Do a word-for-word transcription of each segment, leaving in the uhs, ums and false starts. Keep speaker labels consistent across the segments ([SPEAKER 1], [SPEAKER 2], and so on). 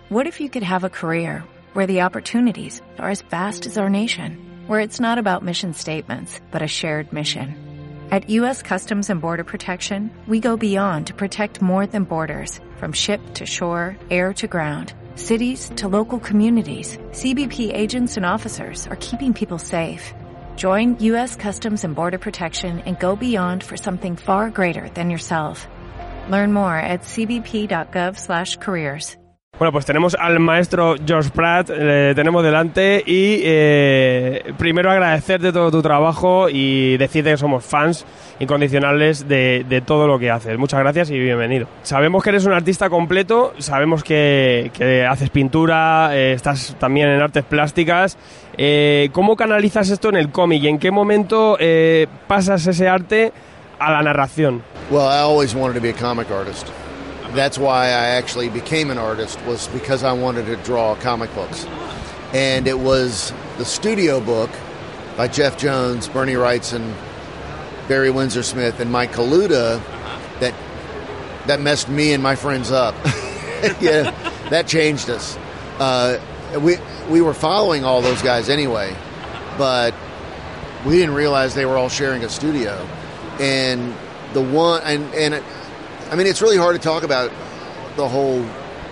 [SPEAKER 1] What if you could have a career where the opportunities are as vast as our nation, where it's not about mission statements, but a shared mission? At U S Customs and Border Protection, we go beyond to protect more than borders, from ship to shore, air to ground, cities to local communities. C B P agents and officers are keeping people safe. Join U S Customs and Border Protection and go beyond for something far greater than yourself. Learn more at c b p dot gov slash careers.
[SPEAKER 2] Bueno, pues tenemos al maestro George Pratt, le tenemos delante y eh, primero agradecerte todo tu trabajo y decirte que somos fans incondicionales de, de todo lo que haces. Muchas gracias y bienvenido. Sabemos que eres un artista completo, sabemos que, que haces pintura, eh, estás también en artes plásticas. Eh, ¿Cómo canalizas esto en el cómic y en qué momento eh, pasas ese arte a la narración?
[SPEAKER 3] Well, I always wanted to be a comic artist. That's why I actually became an artist, was because I wanted to draw comic books. And it was the studio book by Jeff Jones, Bernie Wrightson, Barry Windsor Smith, and Mike Kaluta that that messed me and my friends up. Yeah, that changed us. Uh, we we were following all those guys anyway, but we didn't realize they were all sharing a studio. And the one and and. It, I mean, it's really hard to talk about the whole,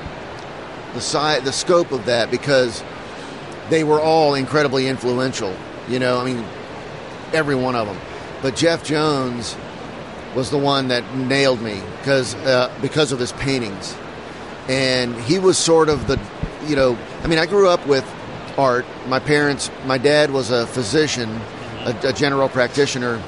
[SPEAKER 3] the size, the scope of that, because they were all incredibly influential, you know, I mean, every one of them. But Jeff Jones was the one that nailed me because, uh, because of his paintings. And he was sort of the, you know, I mean, I grew up with art. My parents, my dad was a physician, a, a general practitioner,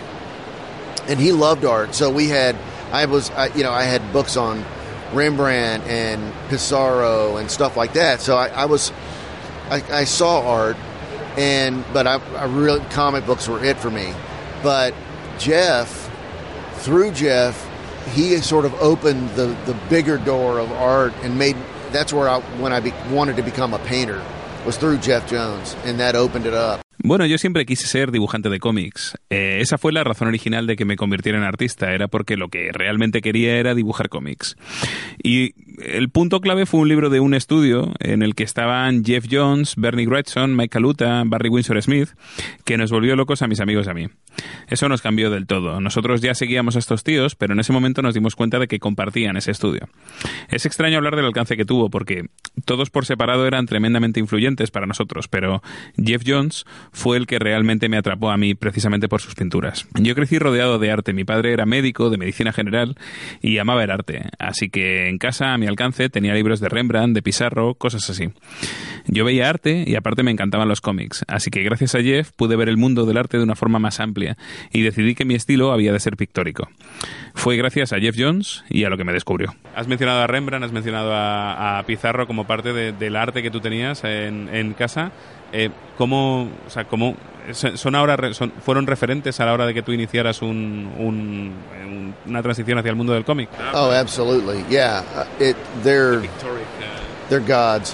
[SPEAKER 3] and he loved art. So we had, I was, I, you know, I had books on Rembrandt and Pissarro and stuff like that. So I, I was, I, I saw art, and but I, I really comic books were it for me. But Jeff, through Jeff, he sort of opened the, the bigger door of art and made. That's where I when I be, wanted to become a painter was through Jeff Jones, and that opened it up.
[SPEAKER 4] Bueno, yo siempre quise ser dibujante de cómics. Eh, esa fue la razón original de que me convirtiera en artista. Era porque lo que realmente quería era dibujar cómics. Y el punto clave fue un libro de un estudio en el que estaban Jeff Jones, Bernie Wrightson, Mike Kaluta, Barry Windsor Smith, que nos volvió locos a mis amigos y a mí. Eso nos cambió del todo. Nosotros ya seguíamos a estos tíos, pero en ese momento nos dimos cuenta de que compartían ese estudio. Es extraño hablar del alcance que tuvo, porque todos por separado eran tremendamente influyentes para nosotros, pero Jeff Jones fue el que realmente me atrapó a mí precisamente por sus pinturas. Yo crecí rodeado de arte. Mi padre era médico de medicina general y amaba el arte, así que en casa a mi alcance tenía libros de Rembrandt, de Pissarro, cosas así. Yo veía arte y aparte me encantaban los cómics, así que gracias a Jeff pude ver el mundo del arte de una forma más amplia y decidí que mi estilo había de ser pictórico. Fue gracias a Jeff Jones y a lo que me descubrió. Has mencionado a Rembrandt, has mencionado a, a Pissarro como parte de, del arte que tú tenías en, en casa. Eh, ¿Cómo, o sea, cómo son ahora son, fueron referentes a la hora de que tú iniciaras un, un, un, una transición hacia el mundo del cómic?
[SPEAKER 3] Oh, absolutely, yeah. It, they're they're gods.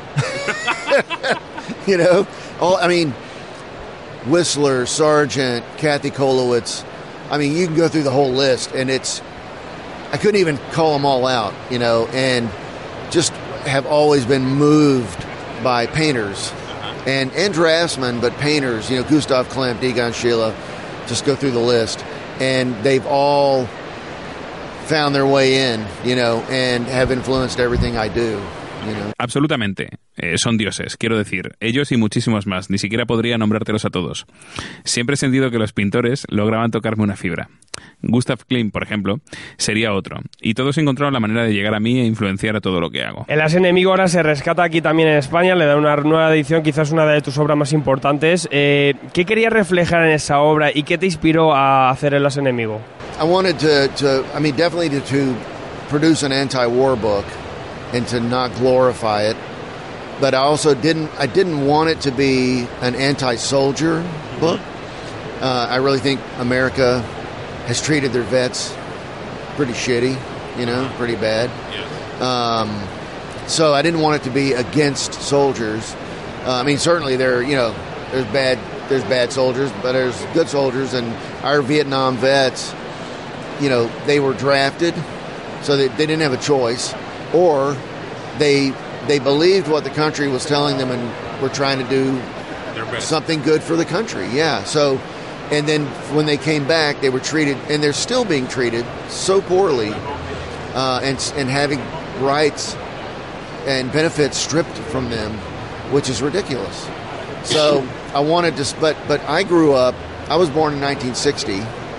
[SPEAKER 3] You know, all I mean, Whistler, Sargent, Kathy Kolowitz. I mean, you can go through the whole list, and it's I couldn't even call them all out. You know, and just have always been moved by painters. And, and draftsmen, but painters, you know, Gustav Klimt, Egon Schiele, just go through the list. And they've all found their way in, you know, and have influenced everything I do. You know.
[SPEAKER 4] Absolutamente. Eh, son dioses, quiero decir, ellos y muchísimos más, ni siquiera podría nombrártelos a todos. Siempre he sentido que los pintores lograban tocarme una fibra. Gustav Klimt, por ejemplo, sería otro, y todos encontraron la manera de llegar a mí e influenciar a todo lo que hago.
[SPEAKER 2] El As Enemigo ahora se rescata aquí también en España, le da una nueva edición, quizás una de tus obras más importantes. Eh, ¿Qué querías reflejar en esa obra y qué te inspiró a hacer el As Enemigo?
[SPEAKER 3] I wanted to, to I mean, definitely to, to produce an anti-war book and to not glorify it. But I also didn't, I didn't want it to be an anti-soldier book. Uh, I really think America has treated their vets pretty shitty, you know, pretty bad. Um, so I didn't want it to be against soldiers. Uh, I mean, certainly there, you know, there's bad, there's bad soldiers, but there's good soldiers, and our Vietnam vets, you know, they were drafted, so they, they didn't have a choice, or they they believed what the country was telling them and were trying to do something good for the country. Yeah. So, and then when they came back, they were treated, and they're still being treated so poorly, uh, and and having rights and benefits stripped from them, which is ridiculous. So I wanted to, but but I grew up. I was born in nineteen sixty,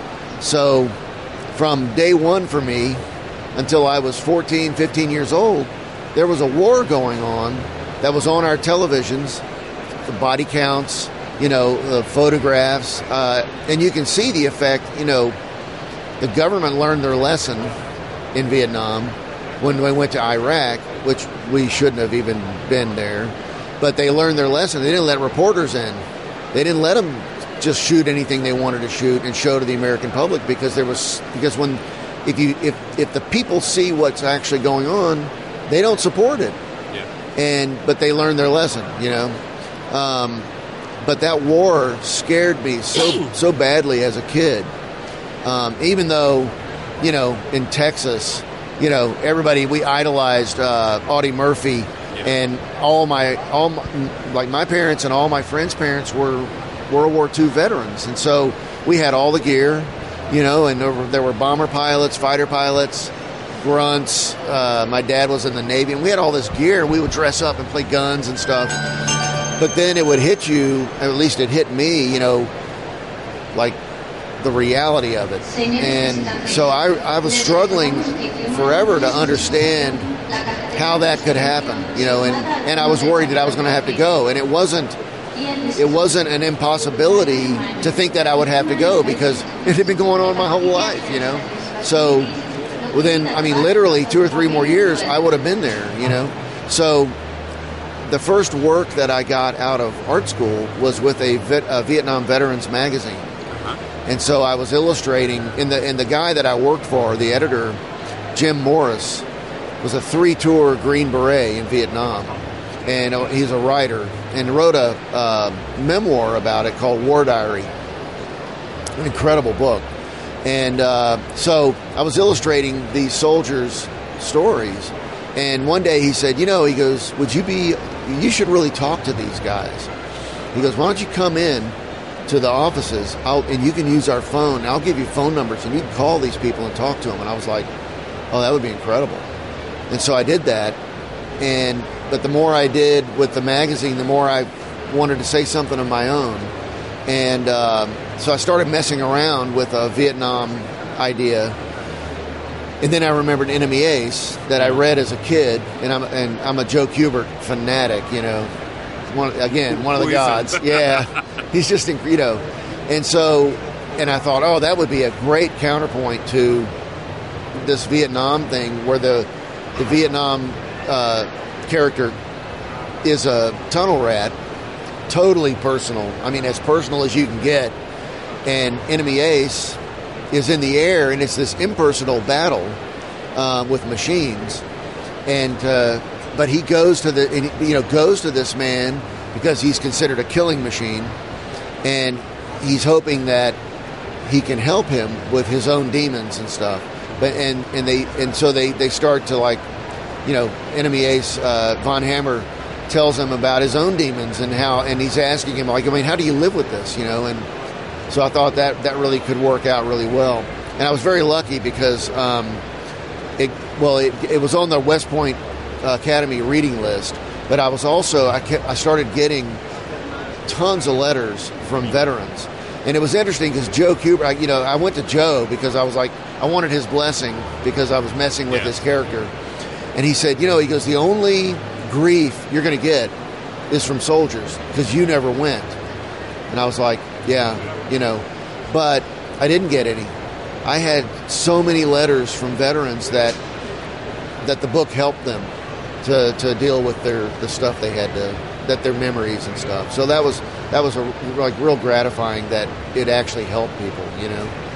[SPEAKER 3] so from day one for me until I was fourteen, fifteen years old, there was a war going on that was on our televisions, the body counts, you know, the photographs, uh, and you can see the effect. You know, the government learned their lesson in Vietnam when they went to Iraq, which we shouldn't have even been there, but they learned their lesson. They didn't let reporters in. They didn't let them just shoot anything they wanted to shoot and show to the American public, because there was because when if you if if the people see what's actually going on, they don't support it.
[SPEAKER 4] Yeah.
[SPEAKER 3] And but they learned their lesson, you know. Um, but that war scared me so so badly as a kid. Um, even though, you know, in Texas, you know, everybody we idolized uh, Audie Murphy, yeah. and all my all my, like my parents and all my friends' parents were World War Two veterans, and so we had all the gear, you know, and there were, there were bomber pilots, fighter pilots, grunts. Uh, my dad was in the Navy, and we had all this gear, and we would dress up and play guns and stuff. But then it would hit you, at least it hit me, you know, like the reality of it. And so I, I was struggling forever to understand how that could happen, you know, and, and I was worried that I was going to have to go, and it wasn't It wasn't an impossibility to think that I would have to go, because it had been going on my whole life, you know. So within, I mean, literally two or three more years, I would have been there, you know. So the first work that I got out of art school was with a, vet, a Vietnam Veterans magazine. And so I was illustrating, and the, and the guy that I worked for, the editor, Jim Morris, was a three-tour Green Beret in Vietnam. And he's a writer, and wrote a uh, memoir about it called War Diary. An incredible book. And uh, so I was illustrating these soldiers' stories, and one day he said, you know, he goes, would you be, you should really talk to these guys. He goes, why don't you come in to the offices, I'll, and you can use our phone, and I'll give you phone numbers, and you can call these people and talk to them. And I was like, oh, that would be incredible. And so I did that, and but the more I did with the magazine, the more I wanted to say something of my own. And uh, so I started messing around with a Vietnam idea. And then I remembered Enemy Ace that I read as a kid. And I'm, and I'm a Joe Kubert fanatic, you know. One, again, one of the gods. Yeah. He's just, you know. And so, and I thought, oh, that would be a great counterpoint to this Vietnam thing, where the, the Vietnam uh, character is a tunnel rat, totally personal. I mean, as personal as you can get. And Enemy Ace is in the air, and it's this impersonal battle uh, with machines. And uh, but he goes to the, you know, goes to this man because he's considered a killing machine, and he's hoping that he can help him with his own demons and stuff. But and and they and so they they start to, like, you know, Enemy Ace, uh, Von Hammer tells him about his own demons and how, and he's asking him, like, I mean, how do you live with this, you know? And so I thought that that really could work out really well. And I was very lucky because, um, it well, it, it was on the West Point Academy reading list, but I was also, I, kept, I started getting tons of letters from veterans. And it was interesting because Joe Kubert, you know, I went to Joe because I was like, I wanted his blessing because I was messing with yeah. his character. And he said, you know, he goes, the only grief you're going to get is from soldiers because you never went. And I was like, yeah, you know, but I didn't get any. I had so many letters from veterans that that the book helped them to, to deal with their the stuff they had to, that their memories and stuff. So that was that was a, like real gratifying that it actually helped people, you know.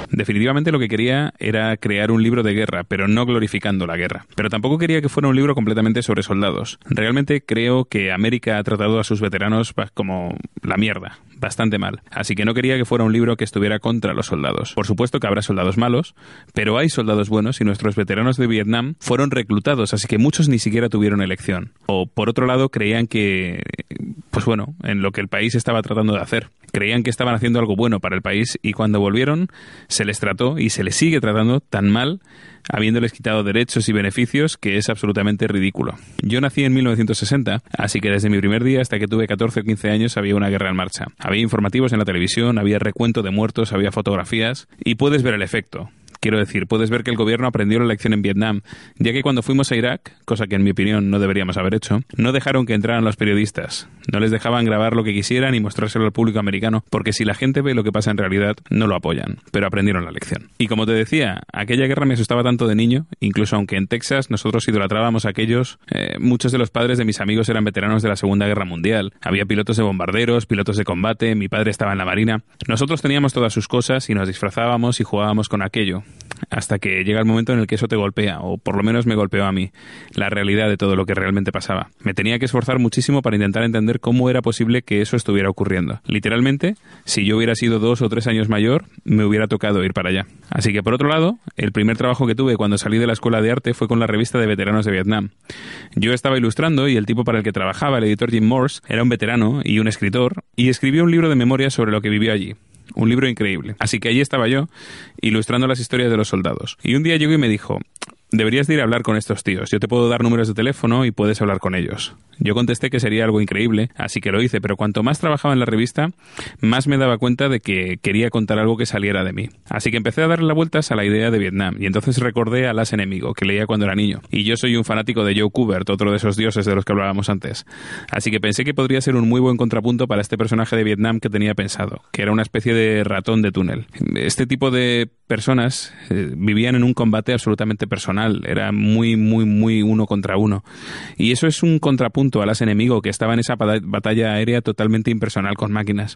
[SPEAKER 4] Definitivamente lo que quería era crear un libro de guerra, pero no glorificando la guerra. Pero tampoco quería que fuera un libro completamente sobre soldados. Realmente creo que América ha tratado a sus veteranos como la mierda, bastante mal. Así que no quería que fuera un libro que estuviera contra los soldados. Por supuesto que habrá soldados malos, pero hay soldados buenos y nuestros veteranos de Vietnam fueron reclutados, así que muchos ni siquiera tuvieron elección. O por otro lado creían que, pues bueno, en lo que el país estaba tratando de hacer. Creían que estaban haciendo algo bueno para el país y cuando volvieron se les trató y se les sigue tratando tan mal, habiéndoles quitado derechos y beneficios, que es absolutamente ridículo. Yo nací en mil novecientos sesenta, así que desde mi primer día hasta que tuve catorce o quince años había una guerra en marcha. Había informativos en la televisión, había recuento de muertos, había fotografías y puedes ver el efecto. Quiero decir, puedes ver que el gobierno aprendió la lección en Vietnam, ya que cuando fuimos a Irak, cosa que en mi opinión no deberíamos haber hecho, no dejaron que entraran los periodistas. No les dejaban grabar lo que quisieran y mostrárselo al público americano, porque si la gente ve lo que pasa en realidad, no lo apoyan. Pero aprendieron la lección. Y como te decía, aquella guerra me asustaba tanto de niño, incluso aunque en Texas nosotros idolatrábamos a aquellos, eh, muchos de los padres de mis amigos eran veteranos de la Segunda Guerra Mundial. Había pilotos de bombarderos, pilotos de combate, mi padre estaba en la Marina. Nosotros teníamos todas sus cosas y nos disfrazábamos y jugábamos con aquello. Hasta que llega el momento en el que eso te golpea, o por lo menos me golpeó a mí, la realidad de todo lo que realmente pasaba. Me tenía que esforzar muchísimo para intentar entender cómo era posible que eso estuviera ocurriendo. Literalmente, si yo hubiera sido dos o tres años mayor, me hubiera tocado ir para allá. Así que por otro lado, el primer trabajo que tuve cuando salí de la escuela de arte fue con la revista de veteranos de Vietnam. Yo estaba ilustrando y el tipo para el que trabajaba, el editor Jim Morse, era un veterano y un escritor, y escribió un libro de memorias sobre lo que vivió allí. Un libro increíble. Así que allí estaba yo, ilustrando las historias de los soldados. Y un día llegó y me dijo: deberías de ir a hablar con estos tíos. Yo te puedo dar números de teléfono y puedes hablar con ellos. Yo contesté que sería algo increíble, así que lo hice, pero cuanto más trabajaba en la revista, más me daba cuenta de que quería contar algo que saliera de mí. Así que empecé a darle las vueltas a la idea de Vietnam, y entonces recordé a Las Enemigo, que leía cuando era niño. Y yo soy un fanático de Joe Kubert, otro de esos dioses de los que hablábamos antes. Así que pensé que podría ser un muy buen contrapunto para este personaje de Vietnam que tenía pensado, que era una especie de ratón de túnel. Este tipo de personas eh, vivían en un combate absolutamente personal, era muy, muy, muy uno contra uno. Y eso es un contrapunto a Las Enemigo, que estaba en esa batalla aérea totalmente impersonal con máquinas.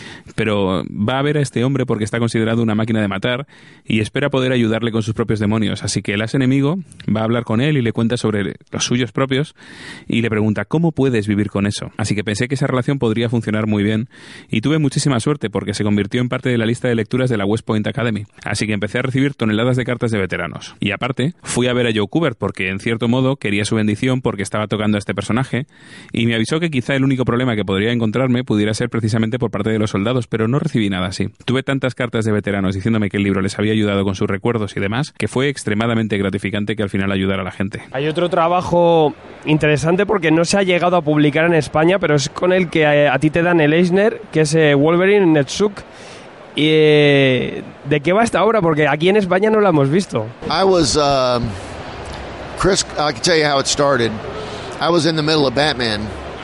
[SPEAKER 4] Pero va a ver a este hombre porque está considerado una máquina de matar y espera poder ayudarle con sus propios demonios. Así que Las Enemigo va a hablar con él y le cuenta sobre los suyos propios y le pregunta ¿cómo puedes vivir con eso? Así que pensé que esa relación podría funcionar muy bien y tuve muchísima suerte porque se convirtió en parte de la lista de lecturas de la West Point Academy. Así que empecé a recibir toneladas de cartas de veteranos. Y aparte, fui a ver a Joe Kubert porque en cierto modo quería su bendición porque estaba tocando a este personaje y me avisó que quizá el único problema que podría encontrarme pudiera ser precisamente por parte de los soldados, pero no recibí nada así. Tuve tantas cartas de veteranos diciéndome que el libro les había ayudado con sus recuerdos y demás, que fue extremadamente gratificante que al final ayudara a la gente.
[SPEAKER 2] Hay otro trabajo interesante porque no se ha llegado a publicar en España, pero es con el que a, a ti te dan el Eisner, que es eh, Wolverine Netzuk. ¿Y eh, de qué va esta obra? Porque aquí en España no la hemos visto.
[SPEAKER 3] I was, um, Chris, I can tell you how it started. I was in the middle of Batman,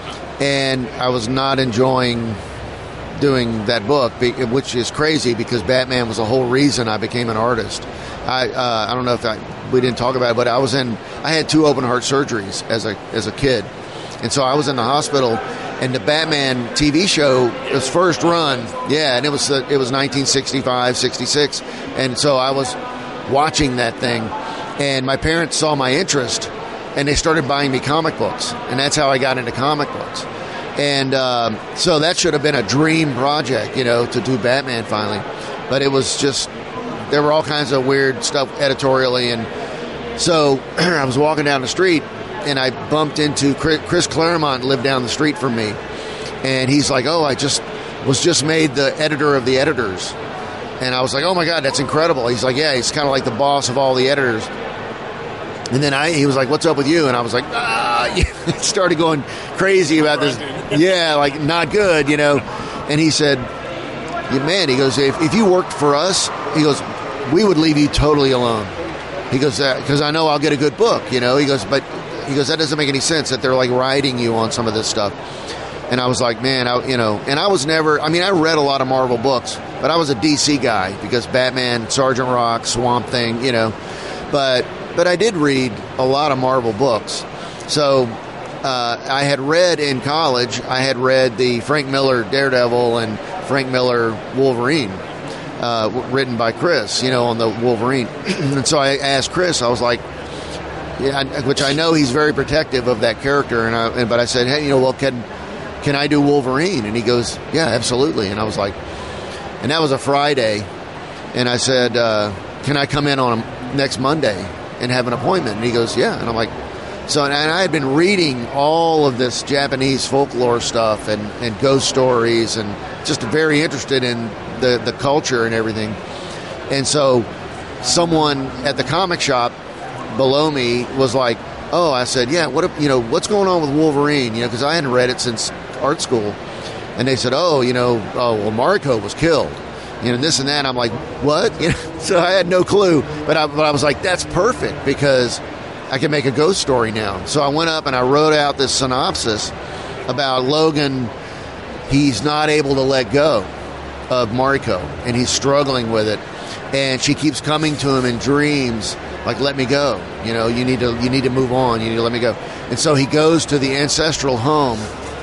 [SPEAKER 3] and I was not enjoying doing that book, which is crazy because Batman was the whole reason I became an artist. I uh, I don't know if I, we didn't talk about it, but I was in. I had two open heart surgeries as a as a kid, and so I was in the hospital. And the Batman T V show, its first run, yeah, and it was uh, it was nineteen sixty-five, sixty-six, and so I was watching that thing, and my parents saw my interest, and they started buying me comic books, and that's how I got into comic books. And um, so that should have been a dream project, you know, to do Batman finally, but it was just, there were all kinds of weird stuff editorially, and so I was walking down the street, and I bumped into Chris Claremont, lived down the street from me, and he's like, oh, I just was just made the editor of the editors. And I was like, oh my God, that's incredible. He's like, yeah, he's kind of like the boss of all the editors. And then I, he was like, what's up with you? And I was like, ah, started going crazy about this. Yeah, like not good, you know. And he said, yeah, man, he goes, if, if you worked for us, he goes, we would leave you totally alone. He goes, because uh, I know I'll get a good book, you know. He goes, but he goes, that doesn't make any sense that they're like riding you on some of this stuff. And I was like, man, I, you know, and I was never, I mean, I read a lot of Marvel books, but I was a D C guy because Batman, Sergeant Rock, Swamp Thing, you know, but, but I did read a lot of Marvel books. So uh, I had read in college, I had read the Frank Miller Daredevil and Frank Miller Wolverine. uh, written by Chris, you know, on the Wolverine. And so I asked Chris, I was like, yeah, which I know he's very protective of that character, and I, but I said, hey, you know, well, can can I do Wolverine? And he goes, yeah, absolutely. And I was like, and that was a Friday, and I said, uh, can I come in on a, next Monday and have an appointment? And he goes, yeah. And I'm like, so, and I had been reading all of this Japanese folklore stuff and, and ghost stories, and just very interested in the, the culture and everything. And so someone at the comic shop below me was like, oh, I said, yeah, what, you know, what's going on with Wolverine? You know, because I hadn't read it since art school. And they said, oh, you know, oh, well, Mariko was killed. You know, this and that. And I'm like, what? You know, so I had no clue. But I, but I was like, that's perfect, because I can make a ghost story now. So I went up and I wrote out this synopsis about Logan. He's not able to let go of Mariko, and he's struggling with it. And she keeps coming to him in dreams, like, let me go. You know, you need to you need to move on. You need to let me go. And so he goes to the ancestral home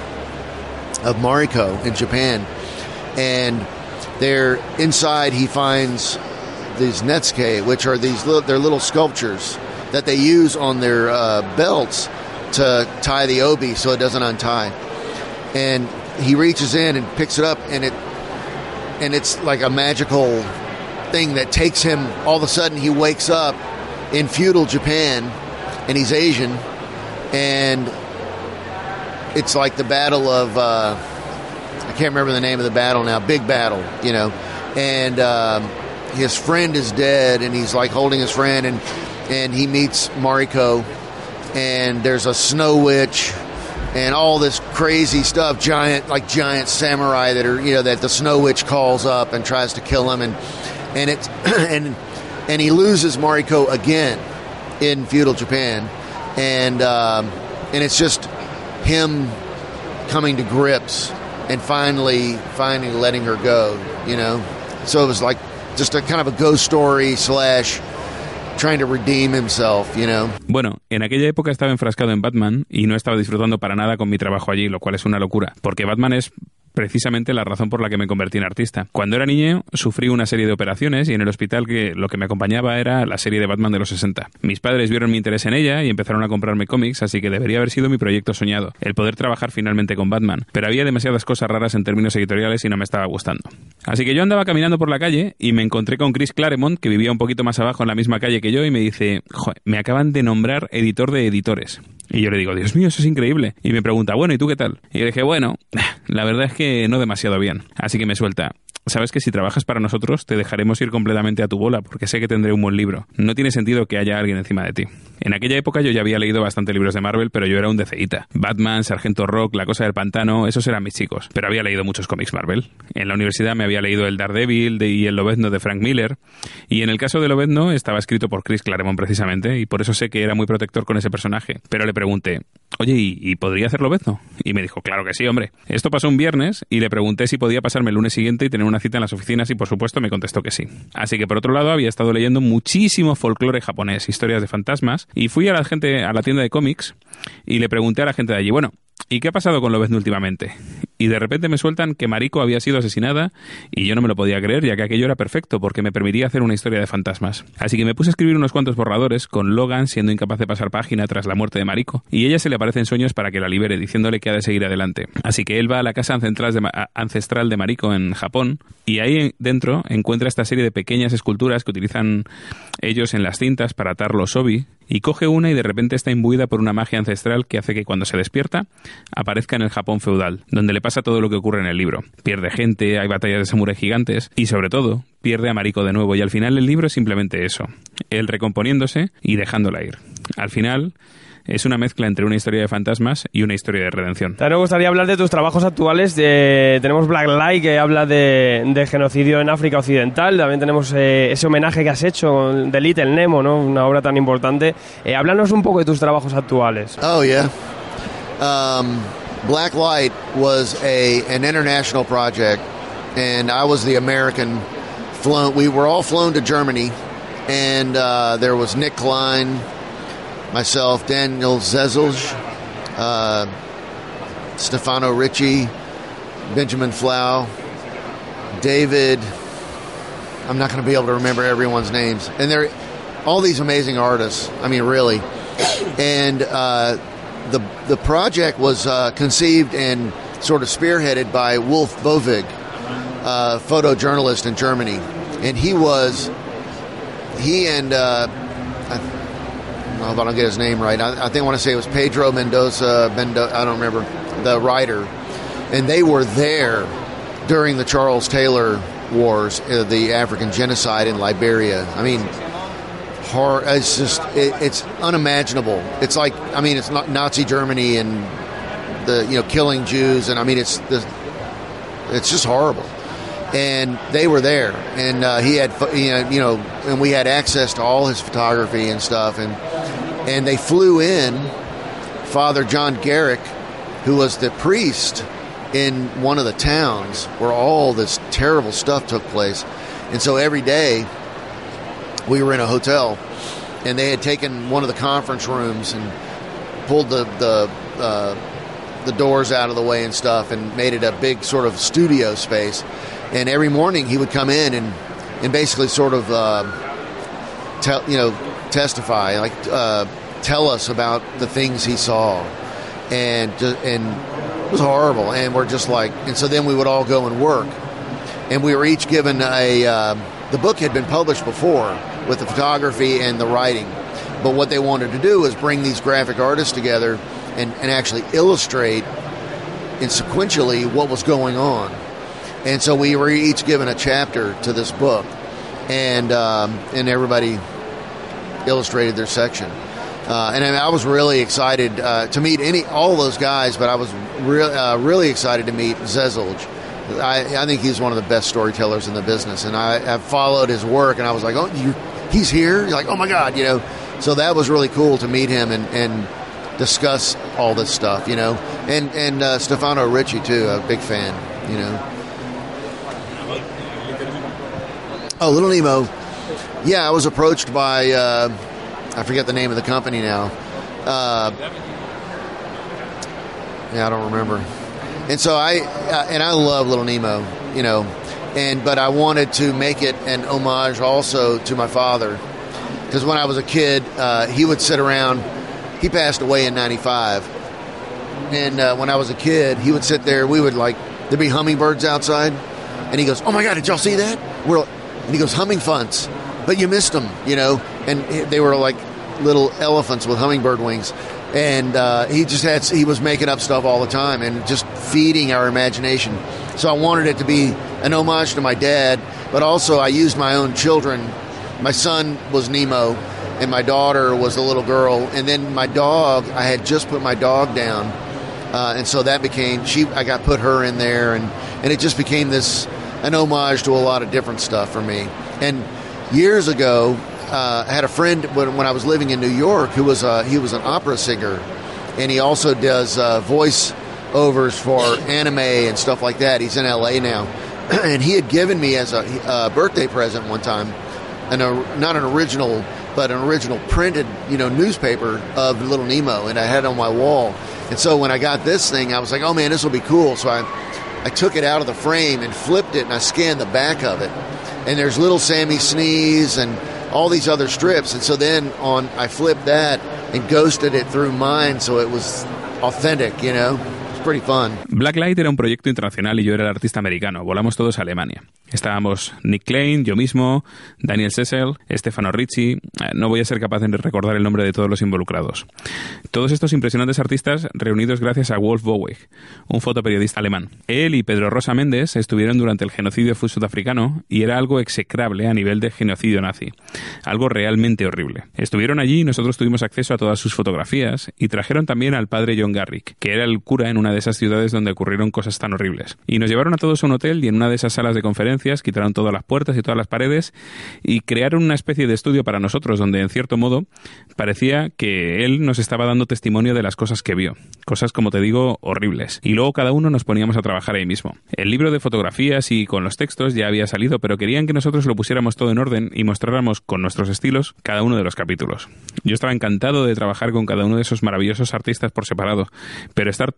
[SPEAKER 3] of Mariko in Japan, and there inside he finds these netsuke, which are these little, they're little sculptures that they use on their uh, belts to tie the obi so it doesn't untie. And he reaches in and picks it up, and it and it's like a magical thing that takes him. All of a sudden, he wakes up in feudal Japan, and he's Asian, and it's like the battle of uh, I can't remember the name of the battle now. Big battle, you know, and um, his friend is dead, and he's like holding his friend, and and he meets Mariko, and there's a snow witch and all this crazy stuff, giant like giant samurai that are, you know, that the snow witch calls up and tries to kill him, and and it's and and he loses Mariko again in feudal Japan, and um, and it's just him coming to grips and finally finally letting her go, you know. So it was like just a kind of a ghost story slash trying to redeem himself, you know.
[SPEAKER 4] Bueno, en aquella época estaba enfrascado en Batman y no estaba disfrutando para nada con mi trabajo allí, lo cual es una locura, porque Batman es precisamente la razón por la que me convertí en artista. Cuando era niño sufrí una serie de operaciones y en el hospital que lo que me acompañaba era la serie de Batman de los sesenta. Mis padres vieron mi interés en ella y empezaron a comprarme cómics, así que debería haber sido mi proyecto soñado, el poder trabajar finalmente con Batman, pero había demasiadas cosas raras en términos editoriales y no me estaba gustando. Así que yo andaba caminando por la calle y me encontré con Chris Claremont, que vivía un poquito más abajo en la misma calle que yo, y me dice, joder, me acaban de nombrar editor de editores. Y yo le digo, Dios mío, eso es increíble. Y me pregunta, bueno, ¿y tú qué tal? Y yo le dije, bueno, la verdad es que no demasiado bien. Así que me suelta, sabes que si trabajas para nosotros te dejaremos ir completamente a tu bola, porque sé que tendré un buen libro. No tiene sentido que haya alguien encima de ti. En aquella época yo ya había leído bastante libros de Marvel, pero yo era un DCita. Batman, Sargento Rock, La Cosa del Pantano, esos eran mis chicos. Pero había leído muchos cómics Marvel. En la universidad me había leído el Daredevil de, y el Lobezno de Frank Miller. Y en el caso de Lobezno estaba escrito por Chris Claremont precisamente, y por eso sé que era muy protector con ese personaje. Pero le pregunté, oye, ¿y, y podría hacer Lobezno? Y me dijo, claro que sí, hombre. Esto pasó un viernes y le pregunté si podía pasarme el lunes siguiente y tener una cita en las oficinas, y por supuesto me contestó que sí. Así que por otro lado había estado leyendo muchísimo folclore japonés, historias de fantasmas, y fui a la gente a la tienda de cómics y le pregunté a la gente de allí, bueno, ¿y qué ha pasado con Lobezno últimamente? Y de repente me sueltan que Mariko había sido asesinada, y yo no me lo podía creer, ya que aquello era perfecto porque me permitía hacer una historia de fantasmas. Así que me puse a escribir unos cuantos borradores, con Logan siendo incapaz de pasar página tras la muerte de Mariko, y ella se le aparece en sueños para que la libere, diciéndole que ha de seguir adelante. Así que él va a la casa ancestral de, ancestral de Mariko en Japón, y ahí dentro encuentra esta serie de pequeñas esculturas que utilizan ellos en las cintas para atar los obi, y coge una y de repente está imbuida por una magia ancestral que hace que cuando se despierta aparezca en el Japón feudal, donde le pasa todo lo que ocurre en el libro. Pierde gente, hay batallas de samuráis gigantes y sobre todo pierde a Mariko de nuevo, y al final el libro es simplemente eso, él recomponiéndose y dejándola ir. Al final es una mezcla entre una historia de fantasmas y una historia de redención.
[SPEAKER 2] También me gustaría hablar de tus trabajos actuales. De, tenemos Black Light, que habla de, de genocidio en África Occidental. También tenemos eh, ese homenaje que has hecho de Little Nemo, ¿no? Una obra tan importante. Eh, háblanos un poco de tus trabajos actuales.
[SPEAKER 3] Oh, yeah. Um, Black Light was a an international project, and I was the American flown. We were all flown to Germany, and uh, there was Nick Klein, myself, Daniel Zezelj, uh, Stefano Ricci, Benjamin Flau, David, I'm not going to be able to remember everyone's names. And they're all these amazing artists. I mean, really. And uh, the the project was uh, conceived and sort of spearheaded by Wolf Bovig, a photojournalist in Germany. And he was, he and, uh, I, I don't know if I don't get his name right. I, I think I want to say it was Pedro Mendoza, Mendoza, I don't remember, the writer. And they were there during the Charles Taylor Wars, uh, the African genocide in Liberia. I mean, hor- it's just, it, it's unimaginable. It's like, I mean, it's not Nazi Germany and the, you know, killing Jews. And I mean, it's the, it's just horrible. And they were there, and uh, he had, you know, you know, and we had access to all his photography and stuff, and and they flew in Father John Garrick, who was the priest in one of the towns where all this terrible stuff took place, and so every day we were in a hotel, and they had taken one of the conference rooms and pulled the the uh, the doors out of the way and stuff, and made it a big sort of studio space. And every morning he would come in and, and basically sort of, uh, tell, you know, testify, like uh, tell us about the things he saw, and and it was horrible. And we're just like, and so then we would all go and work, and we were each given a. Uh, the book had been published before with the photography and the writing, but what they wanted to do was bring these graphic artists together and, and actually illustrate, and sequentially what was going on. And so we were each given a chapter to this book, and um, and everybody illustrated their section. Uh, and I, mean, I was really excited uh, to meet any all those guys, but I was re- uh, really excited to meet Zezelj. I, I think he's one of the best storytellers in the business, and I have followed his work, and I was like, oh, you, he's here? You're like, oh my God, you know. So that was really cool to meet him and, and discuss all this stuff, you know. And and uh, Stefano Ricci too, a big fan, you know. Oh, Little Nemo. Yeah, I was approached by, uh, I forget the name of the company now. Uh, yeah, I don't remember. And so I, uh, and I love Little Nemo, you know, and, but I wanted to make it an homage also to my father. Because when I was a kid, uh, he would sit around, he passed away in ninety-five. And uh, when I was a kid, he would sit there, we would like, there'd be hummingbirds outside. And he goes, oh my God, did y'all see that? We're And he goes, humming funts, but you missed them, you know. And they were like little elephants with hummingbird wings. And uh, he just had, he was making up stuff all the time and just feeding our imagination. So I wanted it to be an homage to my dad, but also I used my own children. My son was Nemo, and my daughter was the little girl. And then my dog, I had just put my dog down. Uh, and so that became, she, I got put her in there, and, and it just became this, an homage to a lot of different stuff for me. And years ago, uh, I had a friend when, when I was living in New York who was a, he was an opera singer, and he also does uh, voice overs for anime and stuff like that. He's in L A now, and he had given me as a, a birthday present one time, an, a, not an original, but an original printed, you know, newspaper of Little Nemo, and I had it on my wall. And so when I got this thing, I was like, oh man, this will be cool. So I. I took it out of the frame and flipped it, and I scanned the back of it. And there's little Sammy Sneeze and all these other strips. And so then on, I flipped that and ghosted it through mine so it was authentic, you know. It's pretty fun.
[SPEAKER 4] Blacklight era un proyecto internacional y yo era el artista americano. Volamos todos a Alemania. Estábamos Nick Klein, yo mismo, Daniel Sessel, Stefano Ricci. No voy a ser capaz de recordar el nombre de todos los involucrados. Todos estos impresionantes artistas reunidos gracias a Wolf Boweg, un fotoperiodista alemán. Él y Pedro Rosa Méndez estuvieron durante el genocidio sudafricano y era algo execrable a nivel de genocidio nazi. Algo realmente horrible. Estuvieron allí y nosotros tuvimos acceso a todas sus fotografías y trajeron también al padre John Garrick, que era el cura en una de esas ciudades donde ocurrieron cosas tan horribles. Y nos llevaron a todos a un hotel y en una de esas salas de conferencias quitaron todas las puertas y todas las paredes y crearon una especie de estudio para nosotros donde, en cierto modo, parecía que él nos estaba dando testimonio de las cosas que vio. Cosas, como te digo, horribles. Y luego cada uno nos poníamos a trabajar ahí mismo. El libro de fotografías y con los textos ya había salido, pero querían que nosotros lo pusiéramos todo en orden y mostráramos con nuestros estilos cada uno de los capítulos. Yo estaba encantado de trabajar con cada uno de esos maravillosos artistas por separado, pero estar todos juntos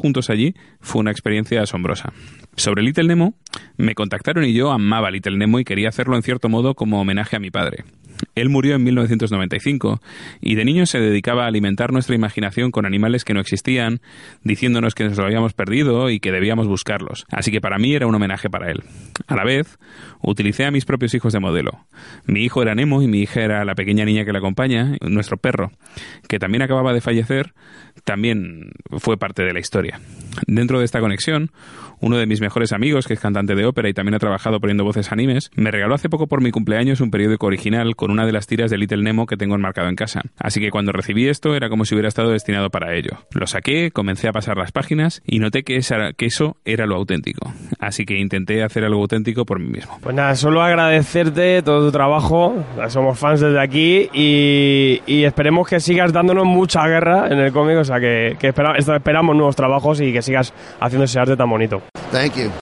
[SPEAKER 4] juntos allí fue una experiencia asombrosa. Sobre Little Nemo, me contactaron y yo amaba Little Nemo y quería hacerlo en cierto modo como homenaje a mi padre. Él murió en mil novecientos noventa y cinco y de niño se dedicaba a alimentar nuestra imaginación con animales que no existían, diciéndonos que nos lo habíamos perdido y que debíamos buscarlos. Así que para mí era un homenaje para él. A la vez, utilicé a mis propios hijos de modelo. Mi hijo era Nemo y mi hija era la pequeña niña que la acompaña, nuestro perro, que también acababa de fallecer, también fue parte de la historia. Dentro de esta conexión, uno de mis mejores amigos, que es cantante de ópera y también ha trabajado poniendo voces a animes, me regaló hace poco por mi cumpleaños un periódico original con una de las tiras de Little Nemo que tengo enmarcado en casa. Así que cuando recibí esto era como si hubiera estado destinado para ello. Lo saqué, comencé a pasar las páginas y noté que, esa, que eso era lo auténtico. Así que intenté hacer algo auténtico por mí mismo.
[SPEAKER 2] Pues nada, solo agradecerte todo tu trabajo. Somos fans desde aquí y, y esperemos que sigas dándonos mucha guerra en el cómic. O sea que, que espera, esperamos nuevos trabajos y que sigas haciendo ese arte tan bonito.
[SPEAKER 3] Thank you.